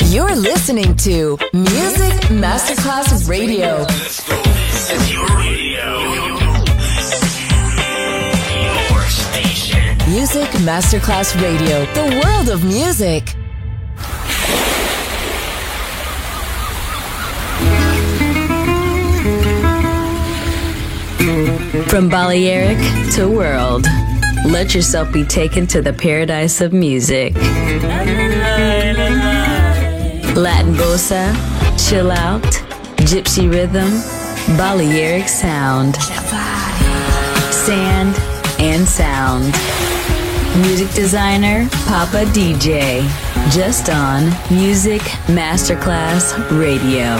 You're listening to Music Masterclass Radio. Let's go. This is your radio. Your station. Music Masterclass Radio. The world of music. From Balearic to world, let yourself be taken to the paradise of music. Latin bossa, chill out, gypsy rhythm, Balearic sound, sand and sound. Music designer, Papa DJ, just on Music Masterclass Radio.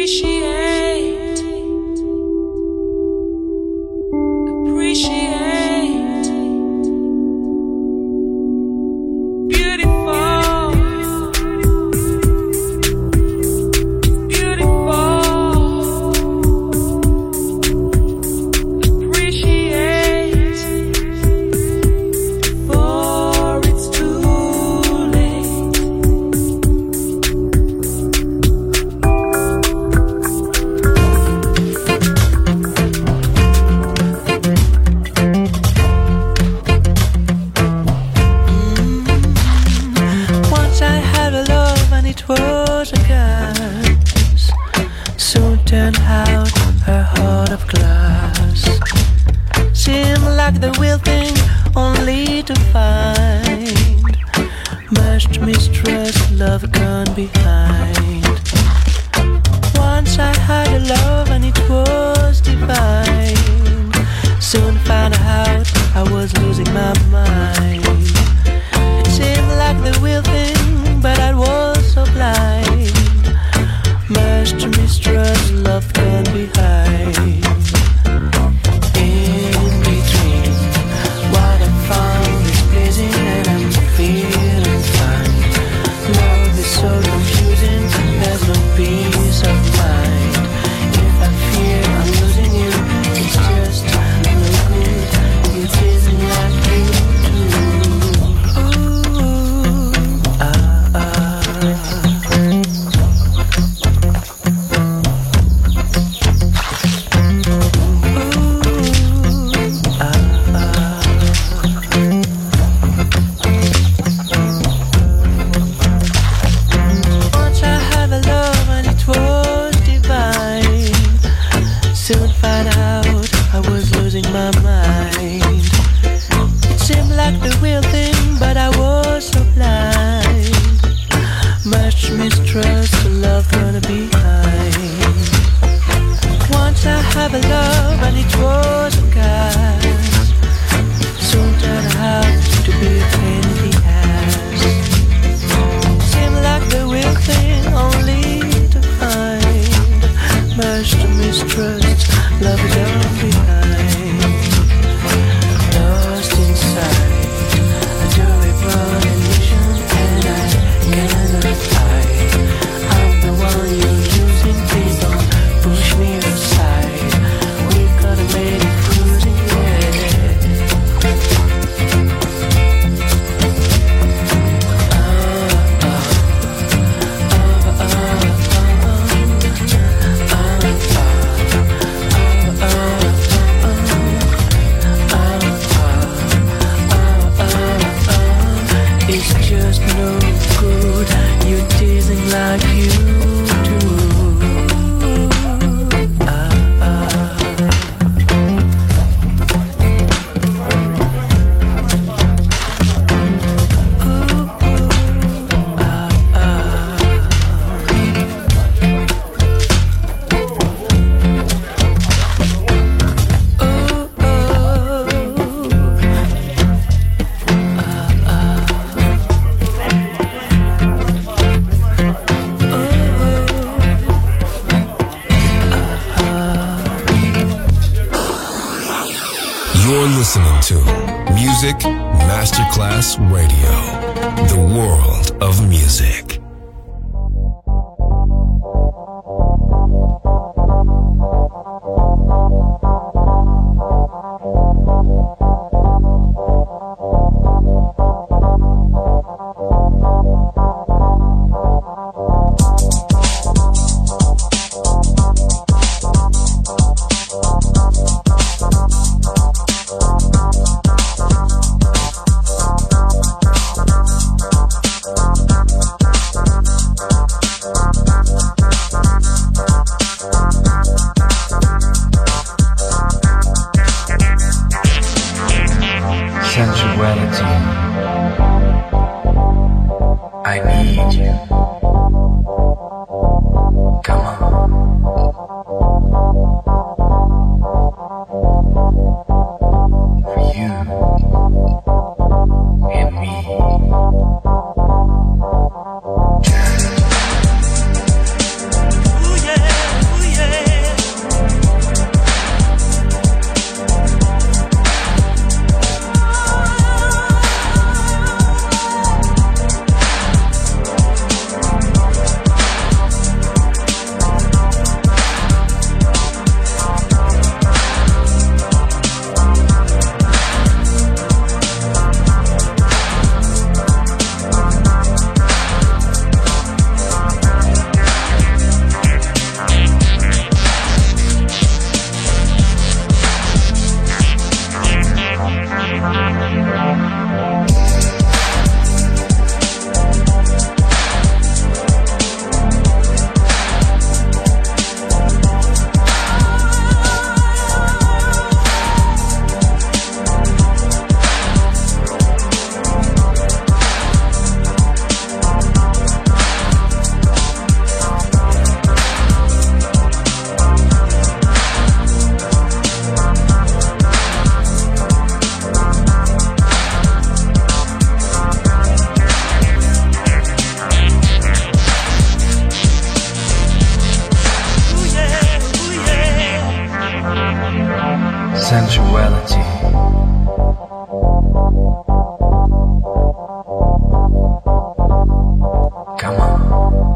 You're listening to Music Masterclass Radio, the world of music. sensuality. Come on.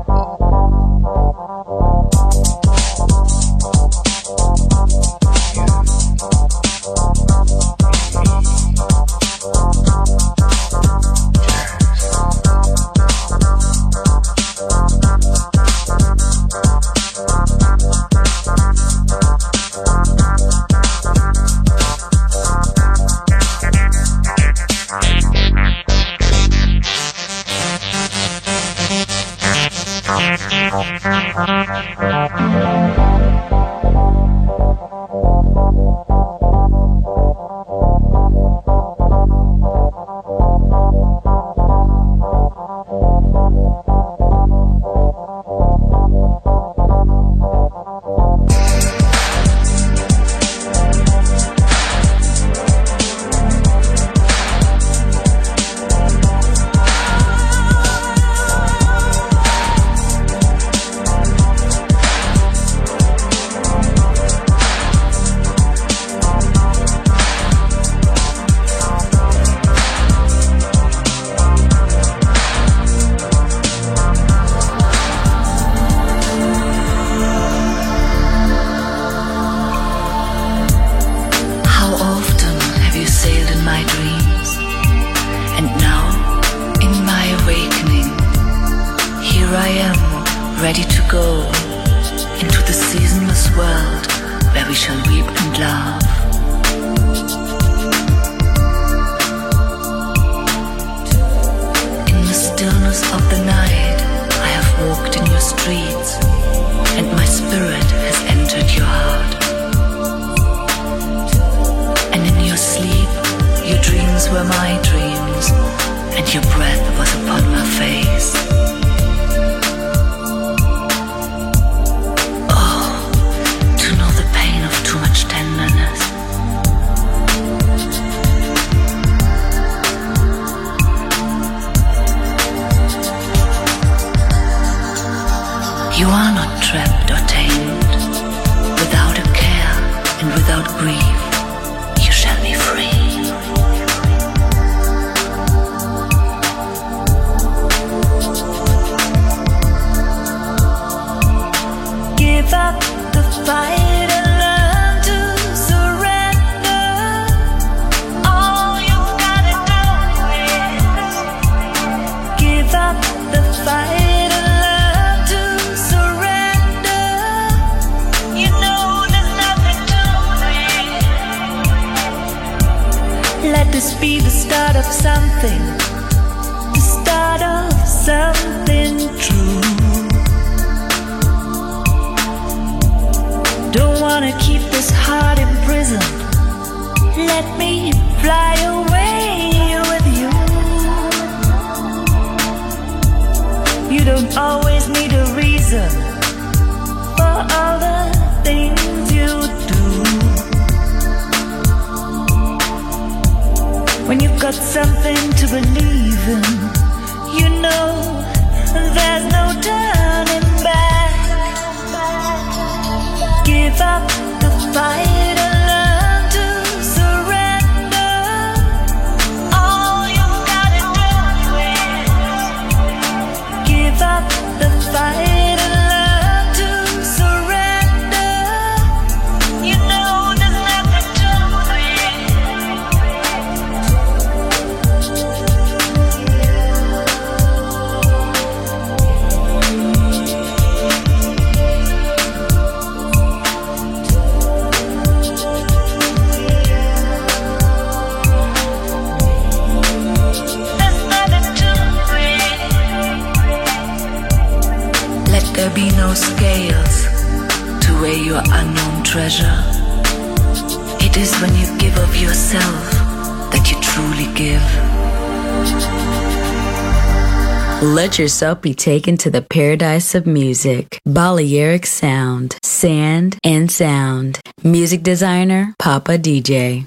Let yourself be taken to the paradise of music. Balearic Sound, Sand and Sound. Music designer, Papa DJ.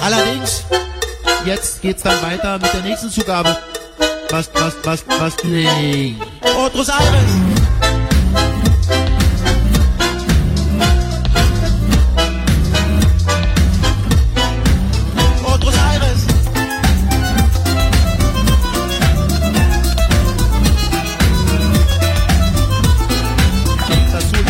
Allerdings, jetzt geht's dann weiter mit der nächsten Zugabe. Nee. Otros Aires. Otros Aires. Azul.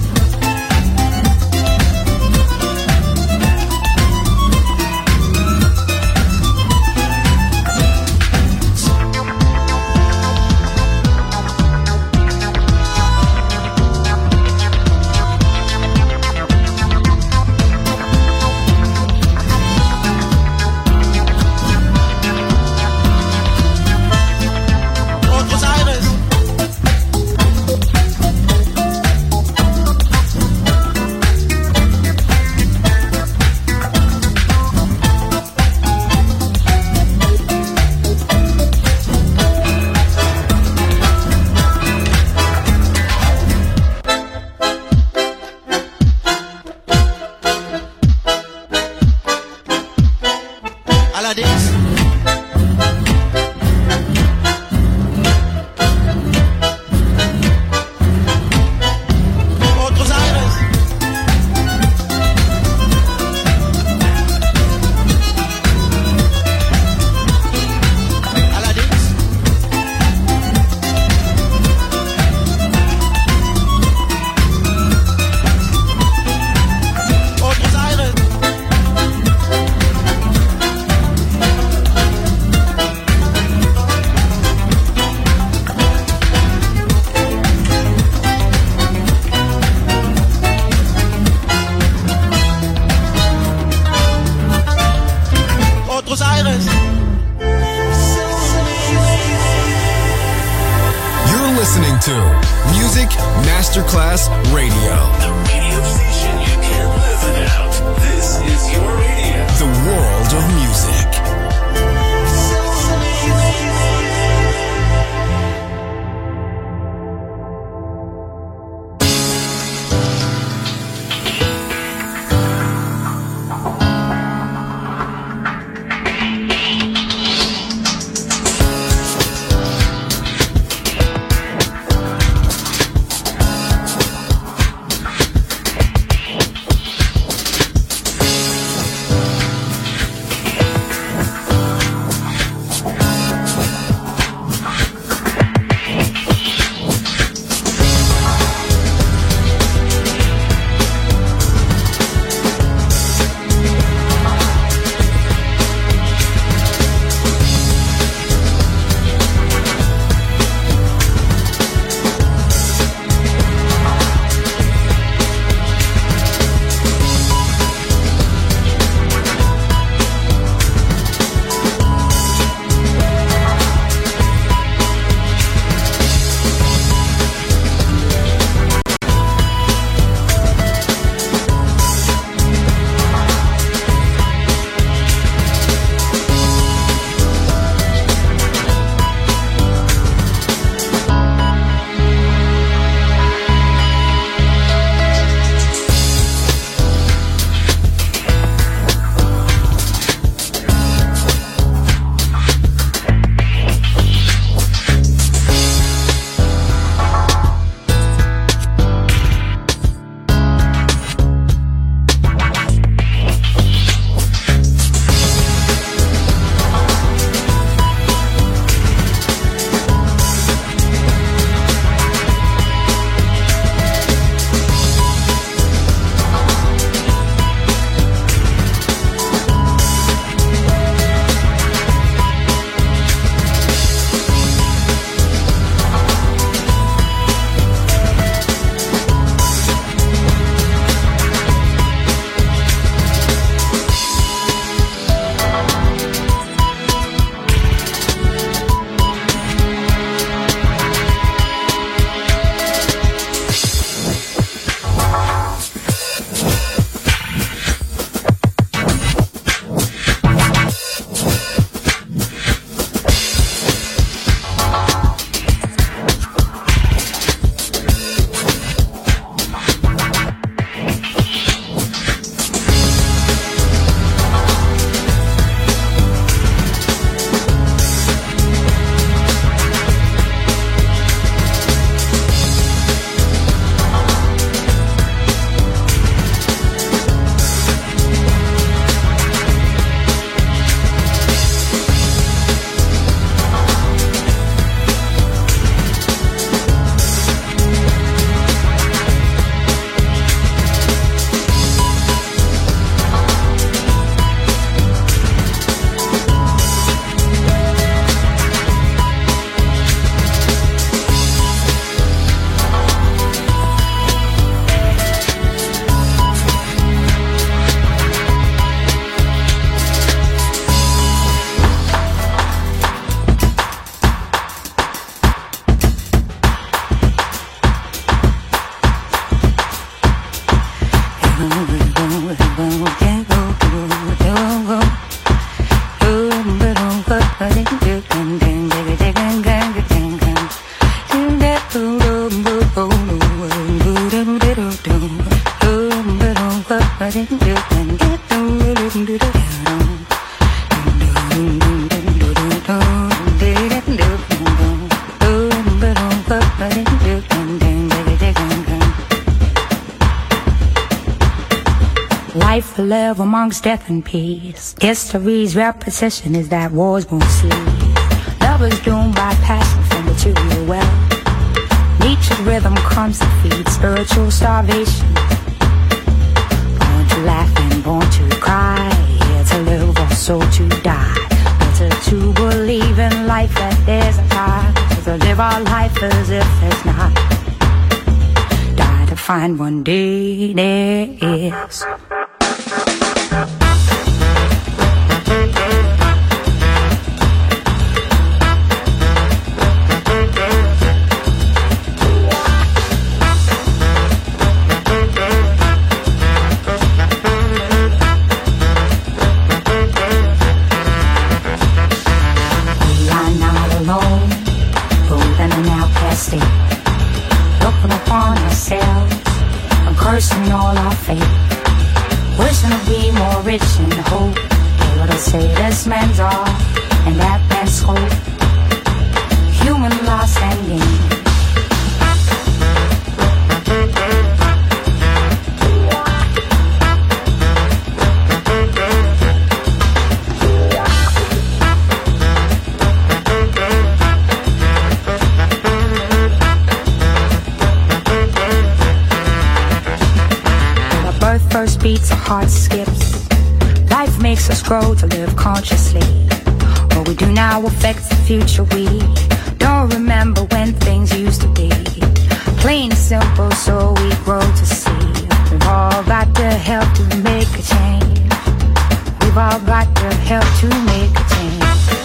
listening to Music Masterclass Radio. The radio station you can't live without. This is your radio. The world of music. live amongst death and peace. History's repetition is that wars won't cease. Love is doomed by passion for material wealth. Nature's rhythm comes to feed spiritual starvation. Born to laugh and born to cry, here to live or so to die. Better to believe in life that there's a God, to live our life as if there's not. Die to find one day there is. Looking upon ourselves and cursing all our fate, wishing to be more rich in hope, able to say this man's all and that man's hope, human loss and gain. First beats, a heart skips. Life makes us grow to live consciously. What we do now affects the future. We don't remember when things used to be. Plain and simple, so we grow to see. We've all got to help to make a change. We've all got to help to make a change.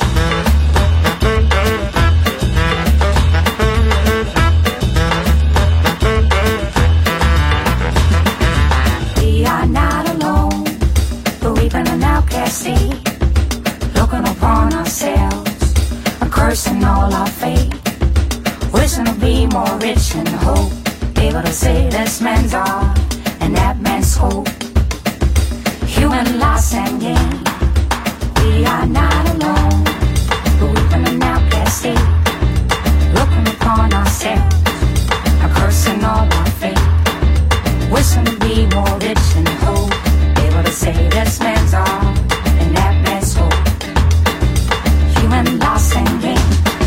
Looking upon ourselves, a cursing all our fate, wishing to be more rich in hope, able to say this man's all and that man's hope, human loss and gain. We are not alone, but we've been an outcast state, looking upon ourselves, a cursing all our fate, wishing to be more rich in hope, able to say this man's all and that man's hope, human loss and gain.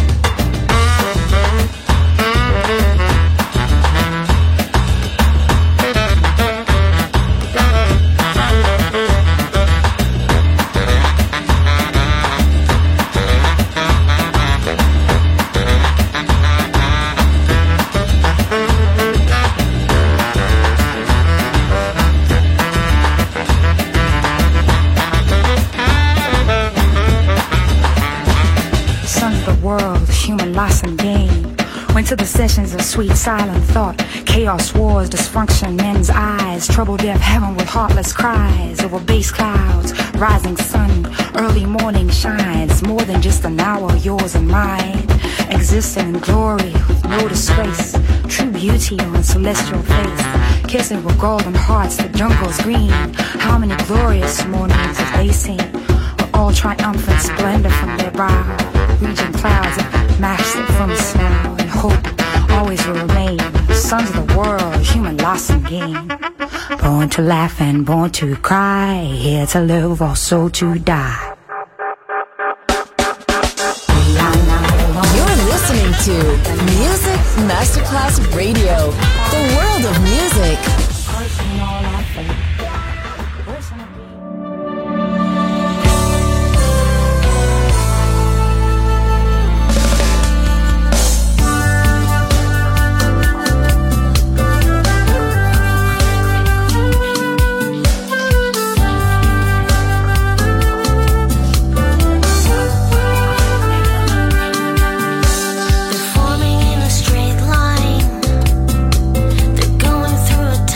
Loss and gain. Went to the sessions of sweet silent thought. Chaos, wars, dysfunction, men's eyes. Trouble, death, heaven with heartless cries. Over base clouds, rising sun. Early morning shines. More than just an hour, yours and mine. Existing in glory with no disgrace. True beauty on celestial face. Kissing with golden hearts, the jungle's green. How many glorious mornings have they seen? With all triumphant splendor from their brow. Reaching clouds of master from snow and hope always will remain. Sons of the world, human loss and gain. Born to laugh and born to cry, here to live also to die. You're listening to Music Masterclass Radio, the world of music. Forming in a straight line, they're going through a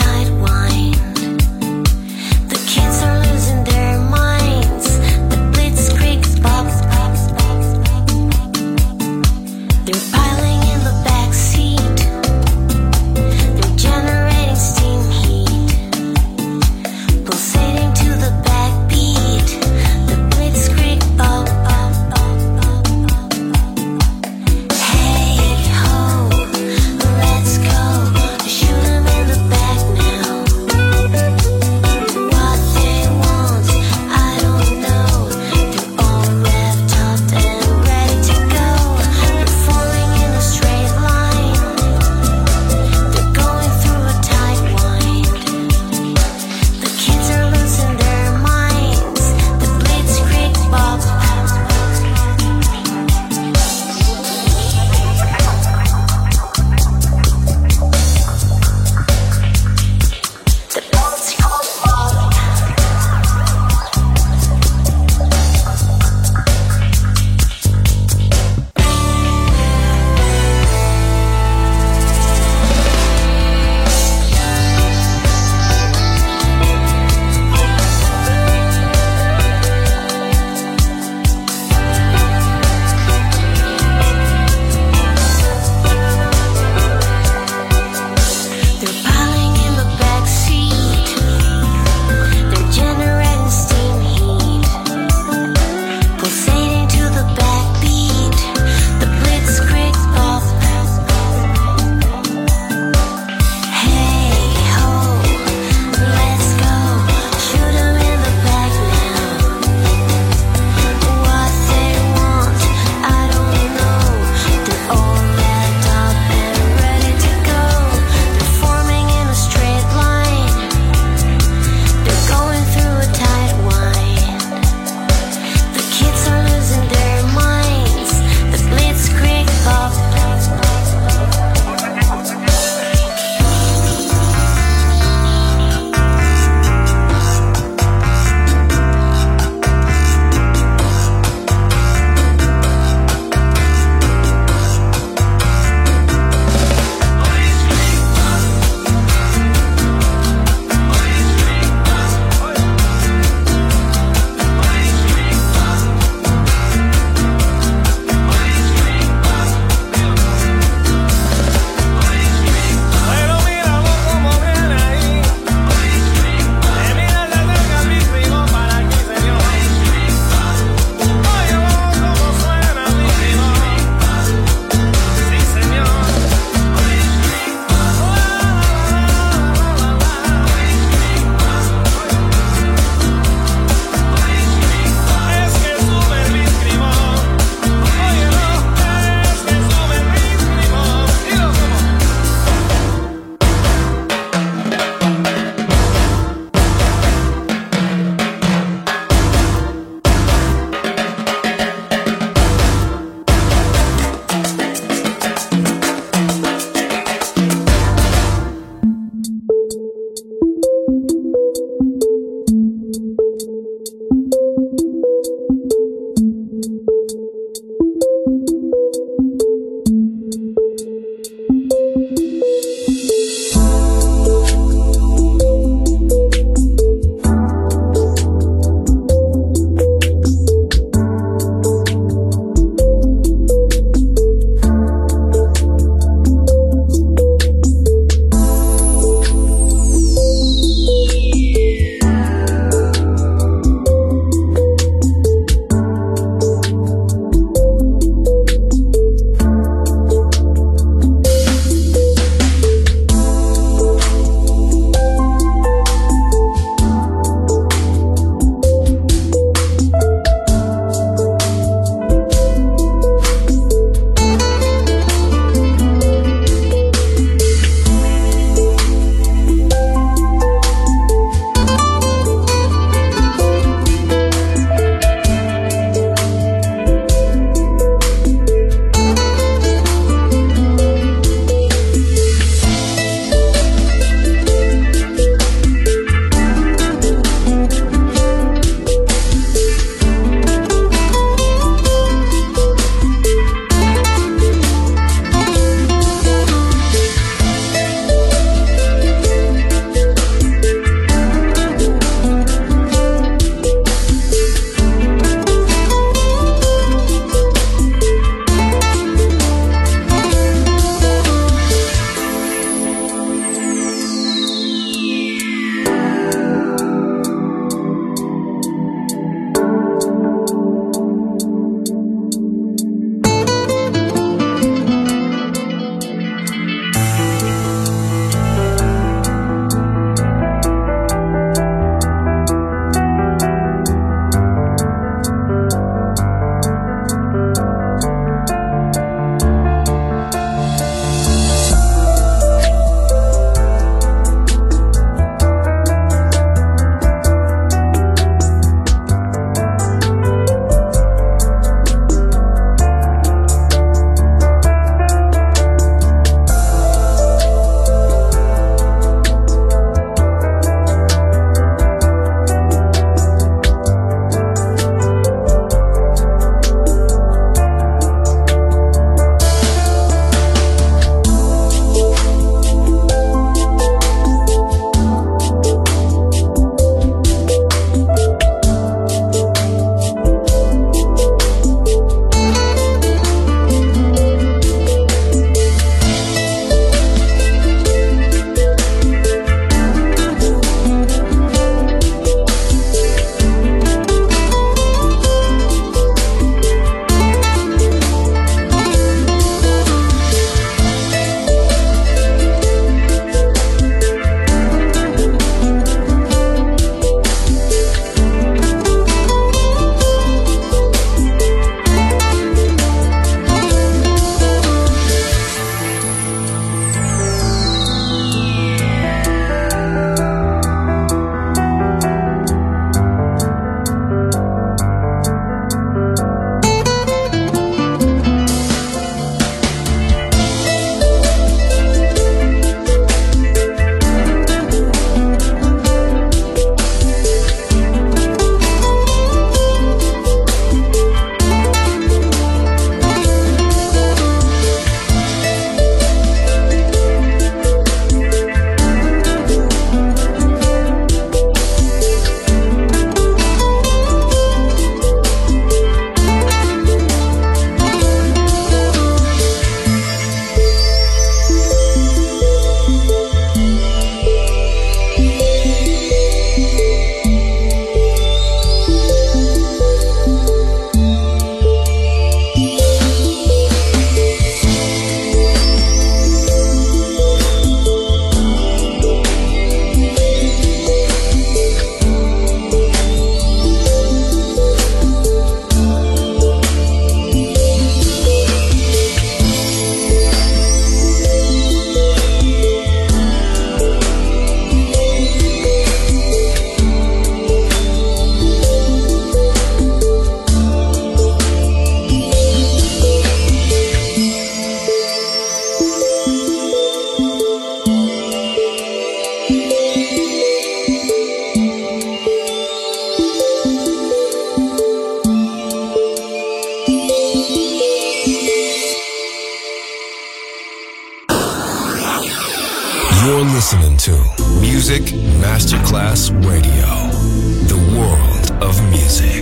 to Music Masterclass Radio, the world of music.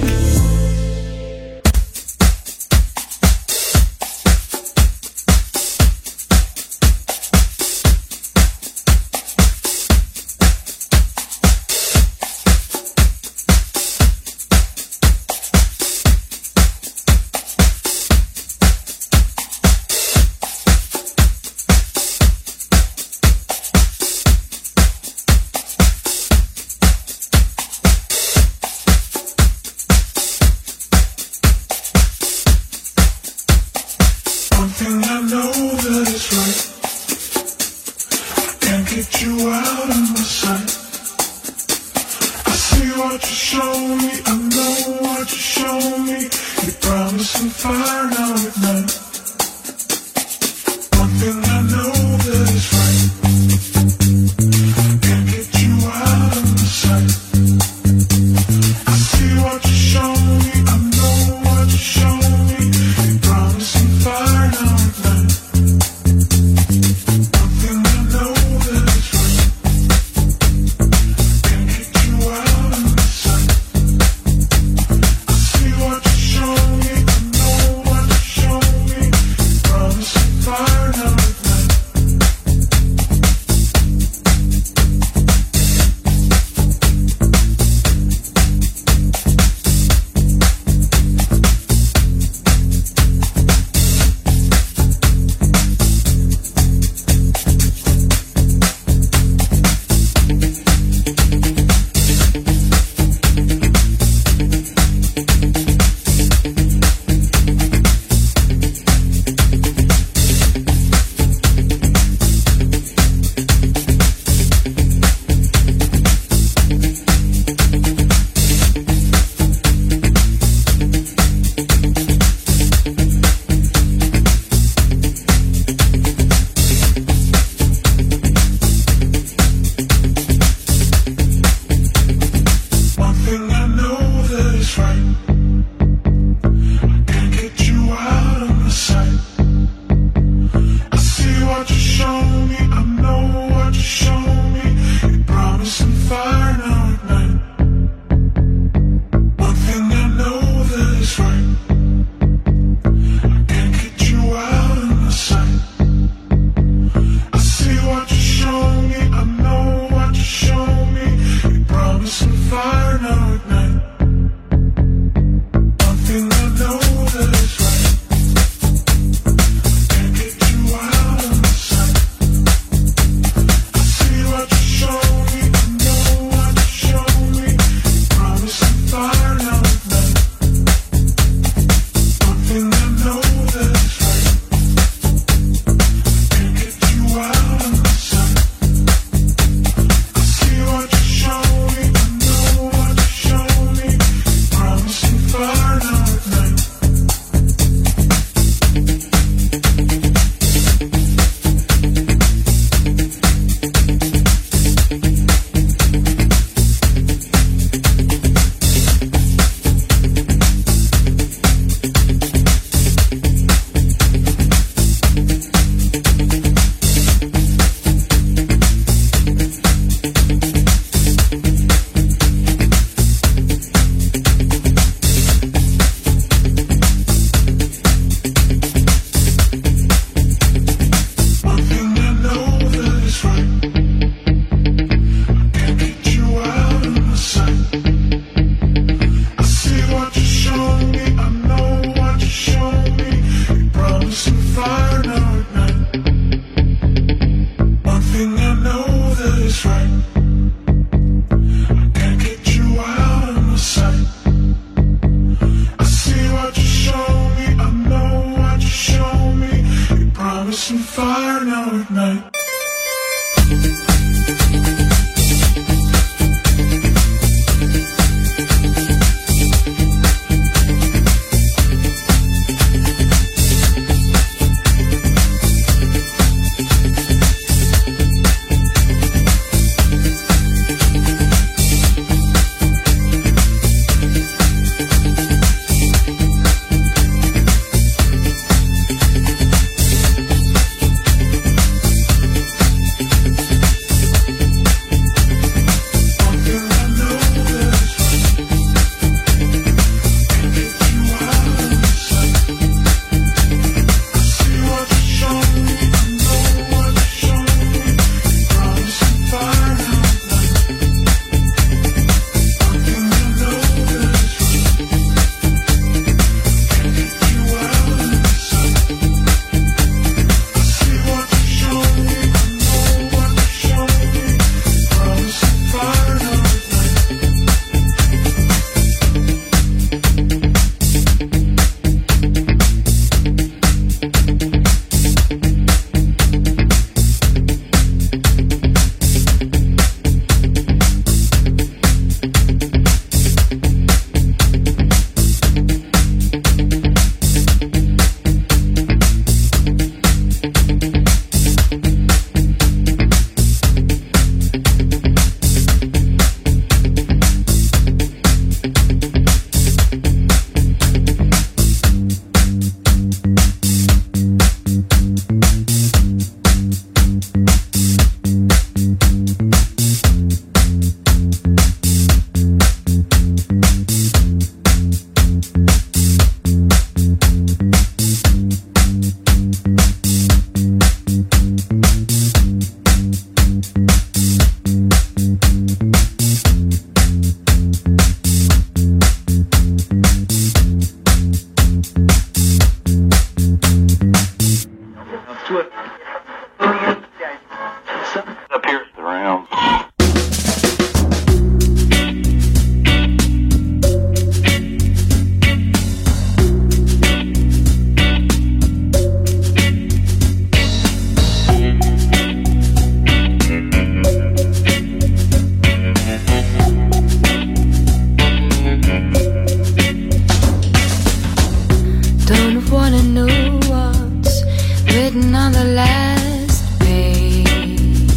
Don't wanna know what's written on the last page.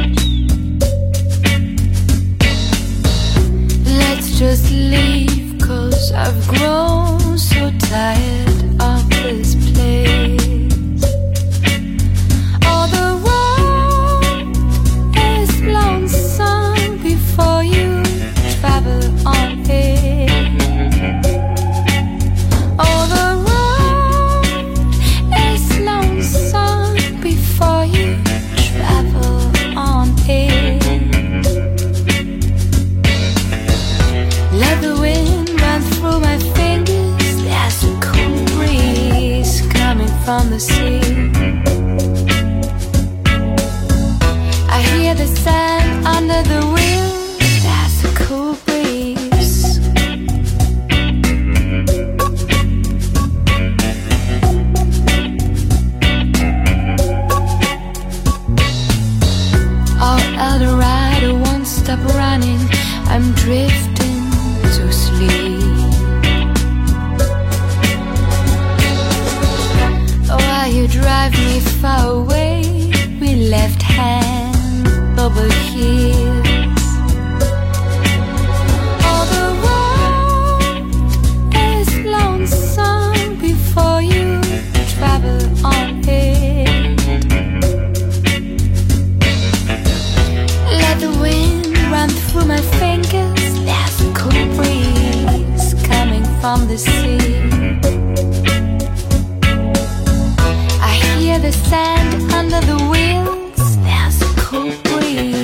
Let's just leave, 'cause I've grown so tired of this place. All the road is lonesome before you travel on it. All the road is lonesome before you travel on it. Let the wind run through my fingers. There's a cool breeze coming from the sea. I hear the sand under the wheels. There's a cool breeze. All Eldorado won't stop running. I'm drifting to sleep. While you drive me far away, we left hand over heels. All the road is lonesome before you travel on it. Let the wind run through my fingers. There's a cool breeze coming from the sea. I hear the sand under the wheels. There's a cool breeze.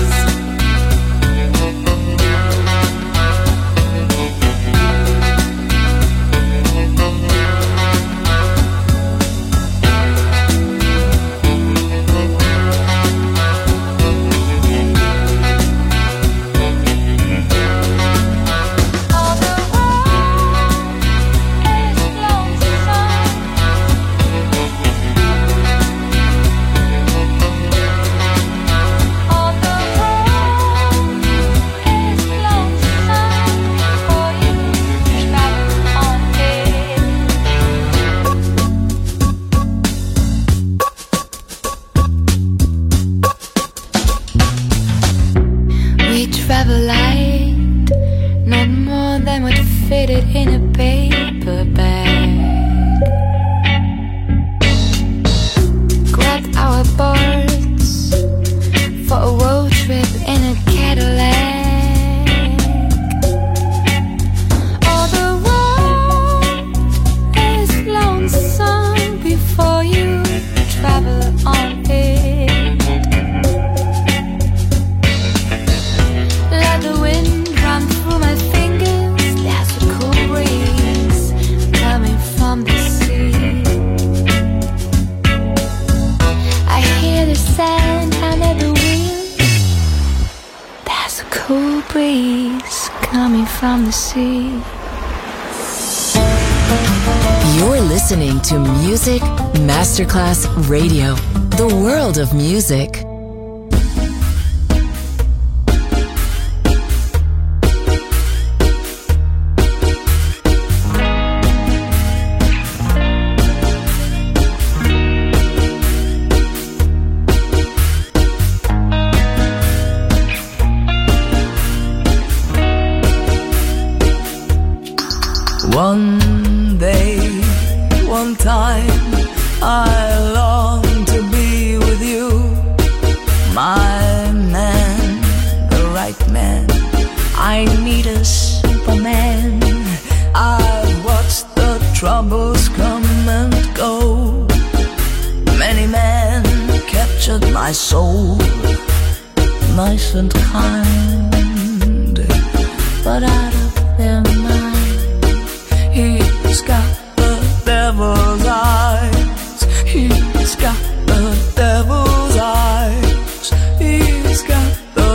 All the road is lonesome. All the road is lonesome before you travel on it. We travel light, not more than what fitted in a paper bag. Grabbed our boards for a road trip in a Cadillac. All the road is lonesome before you travel on it. Let the wind run through my fingers. There's a cool breeze coming from the sea. I hear the sand under the wheels. There's a cool breeze coming from the sea. You're listening to Music Masterclass Radio, the world of music. One day, one time, I long to be with you. My man, the right man. I need a Superman. I've watched the troubles come and go. Many men captured my soul, nice and kind, but out of their mind. He's got the devil's eyes. He's got the devil's eyes. He's got the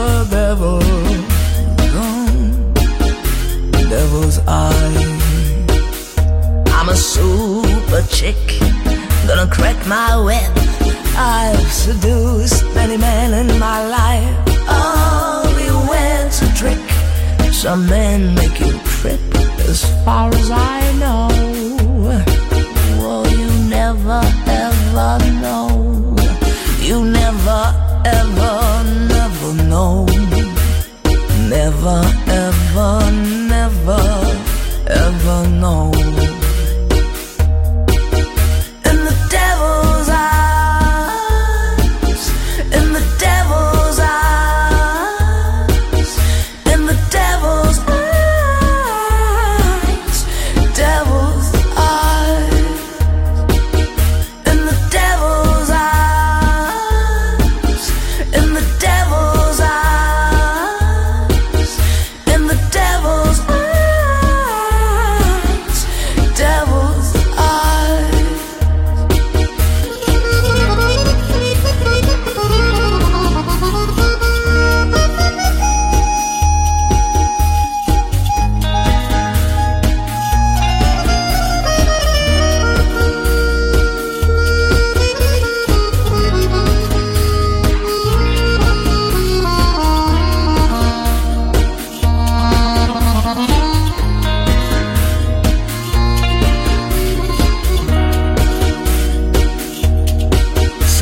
devil's eyes. I'm a super chick, gonna crack my whip. I've seduced many men in my life. Only when's a trick. Some men make you trip. As far as I know,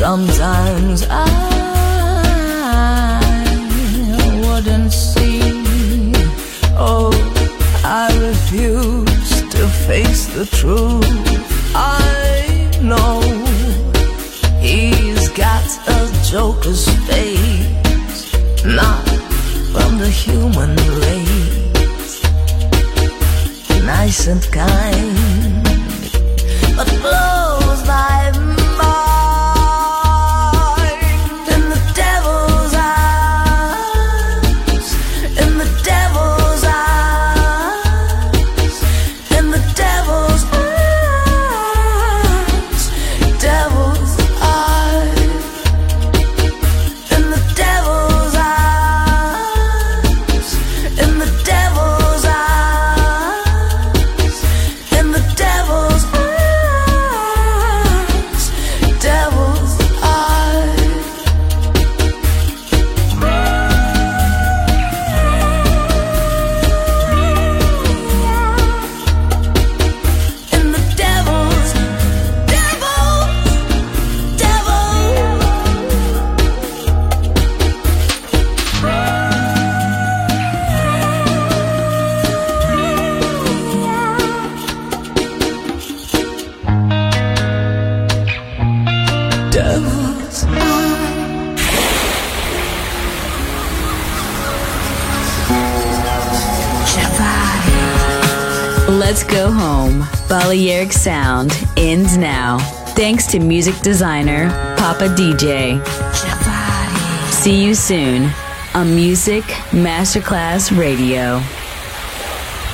Sometimes I wouldn't see. Oh, I refuse to face the truth. I know he's got a joker's face, not from the human race. Nice and kind, but blows my mind. In the devil's eyes, in the devil's eyes, in the devil's eyes, devil's eyes, in the devil's eyes, in the devil's eyes, in the devil's eyes, devil's eyes. In the devil's, devil's Let's go home. Balearic Sound ends now. Thanks to music designer Papa DJ. See you soon on Music Masterclass Radio.